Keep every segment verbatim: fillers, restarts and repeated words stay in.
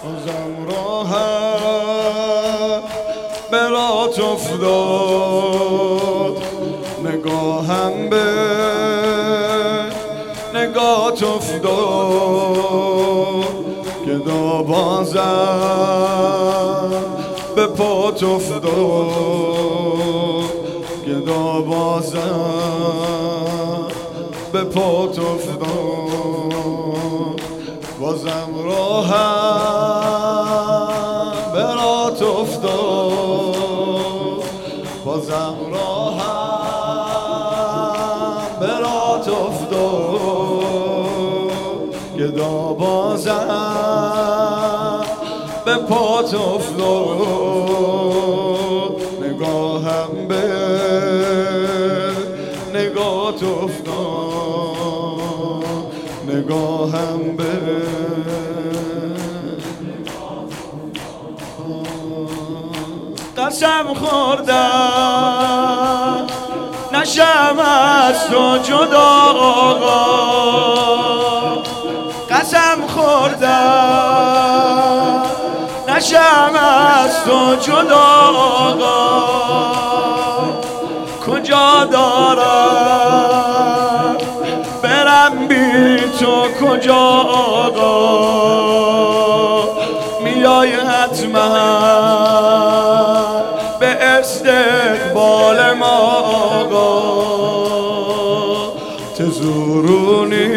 بازم راهم برات افتاد، نگاهم به نگات افتاد، گدا بازم به پات افتاد، گدا بازم به پات افتاد، بازم راهم برات افتاد، بازم راهم برات افتاد، گدا بازم به پات افتاد، نگاهم به نگات افتاد، نگاهم به قسم خوردم نشم از تو جدا آقا، قسم خوردم نشم از تو جدا آقا، کجا دارم برم بی تو کجا آقا، میای حتما به استقبال ما آقا، تزورونی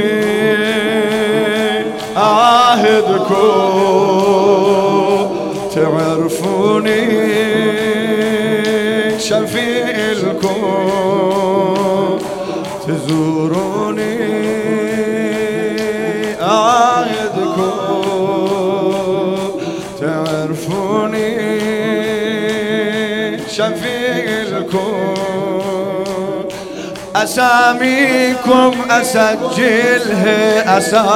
عهد کن، تعرفوني شفيع الكون، تزوروني أعاهدكم، تعرفوني شفيع الكون، أساميكم أسجلها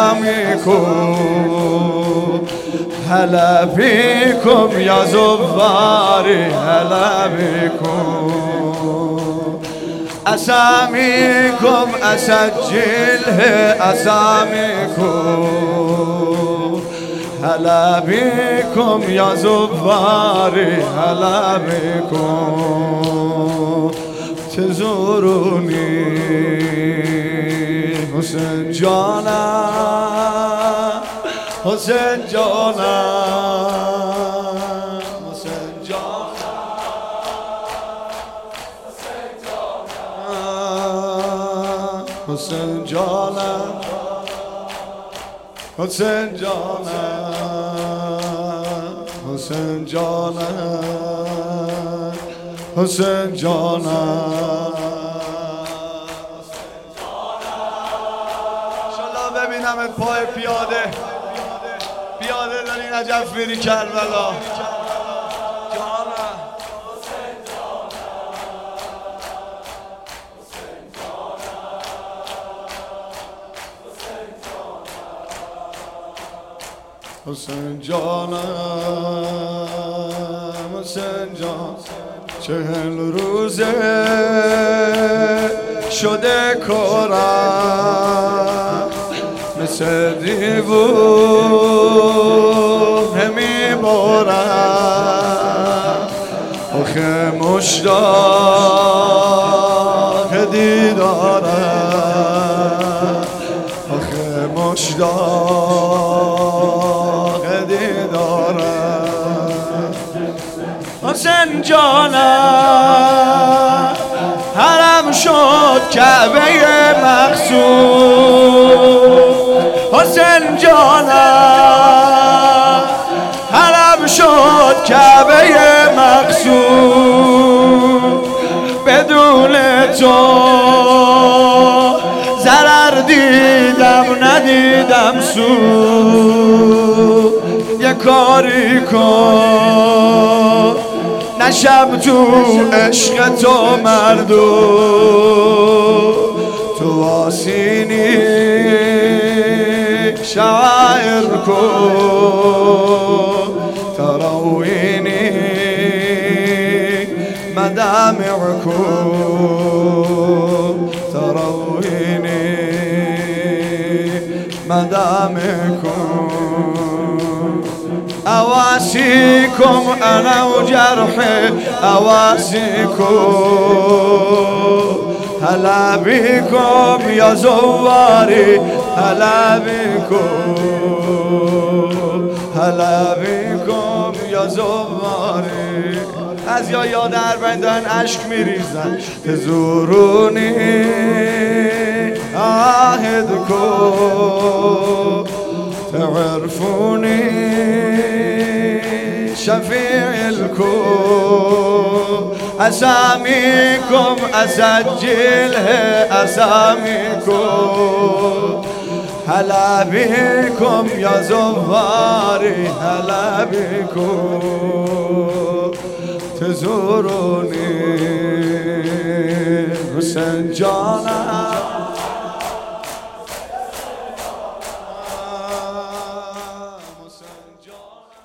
أساميكم، هلا بكم يا زواري هلا بكم، أساميكم أسجلها أساميكم، هلا بكم يا زواري هلا بكم، تزوروني حسین جانم، حسین جانم، حسین جانم، حسین جانم، حسین جانم، حسین جانم، حسین جانم، انشالله ببینمت پای پیاده پیاده داری نجف میری کربلا. حسین جانم، حسین جان، چهل روزه شده کارم، مثل دیوونه میبارم، آخه مشتاق دیدارم، آخه مشتاق دیدارم، حسین جانم، حرم شد کعبه مقصود، حسین جانم، حرم شد کعبه مقصود، بدون تو ضرر دیدم ندیدم سود، یه کاری کن نشم تو عشق تو مردم، تو آسینی شاعر کن، تراوینی مدامع کن، تراوینی مدامع کن. أواسيكم أنا وجرحي أواسيكم هلا بكم يا زواري هلا بكم هلا بكم یا زواری از یا یا در بندن عشق میریزن تزورونی عهد کن تعرفوني شفيع الكون أساميكم أسجلها أساميكم هلا بكم يا زواري هلا بكم تزوروني حسين جانا John.